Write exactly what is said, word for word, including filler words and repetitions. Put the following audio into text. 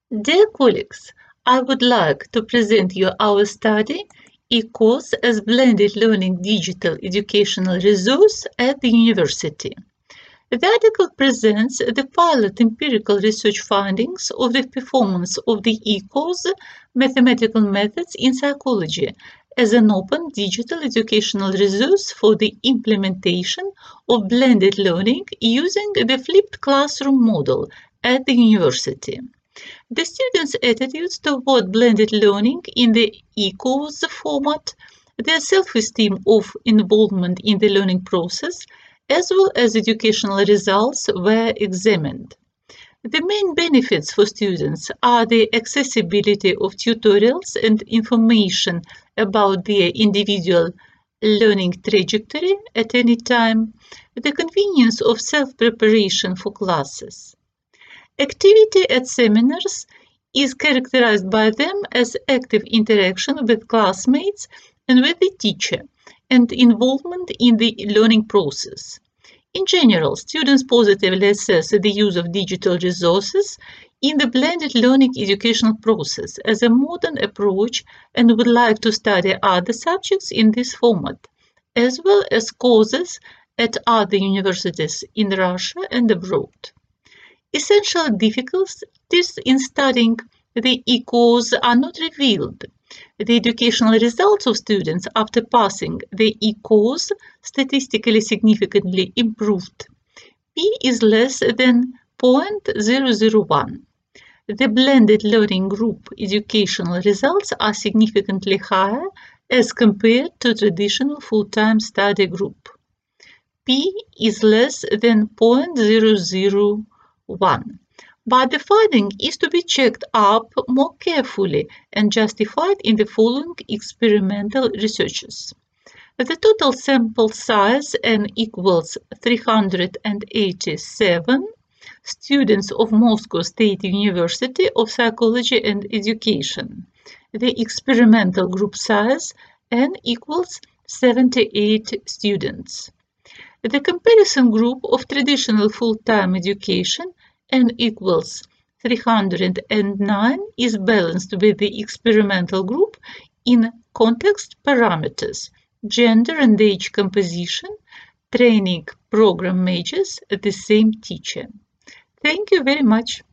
Dear colleagues, I would like to present you our study, E-Course as Blended Learning Digital Educational Resource at the University. The article presents the pilot empirical research findings of the performance of the E-Course mathematical methods in psychology as an open digital educational resource for the implementation of blended learning using the flipped classroom model at the university. The students' attitudes toward blended learning in the E-course format, their self-esteem of involvement in the learning process, as well as educational results were examined. The main benefits for students are the accessibility of tutorials and information about their individual learning trajectory at any time, the convenience of self-preparation for classes. Activity at seminars is characterized by them as active interaction with classmates and with the teacher, and involvement in the learning process. In general, students positively assess the use of digital resources in the blended learning educational process as a modern approach and would like to study other subjects in this format, as well as courses at other universities in Russia and abroad. Essential difficulties in studying the E-course are not revealed. The educational results of students after passing the E-course statistically significantly improved. P is less than zero point zero zero one. The blended learning group educational results are significantly higher as compared to traditional full-time study group. P is less than zero point zero zero one. But the finding is to be checked up more carefully and justified in the following experimental researches. The total sample size n equals three hundred eighty-seven students of Moscow State University of Psychology and Education. The experimental group size n equals seventy-eight students. The comparison group of traditional full-time education n equals three hundred nine is balanced with the experimental group in context parameters, gender and age composition, training program majors, the same teacher. Thank you very much.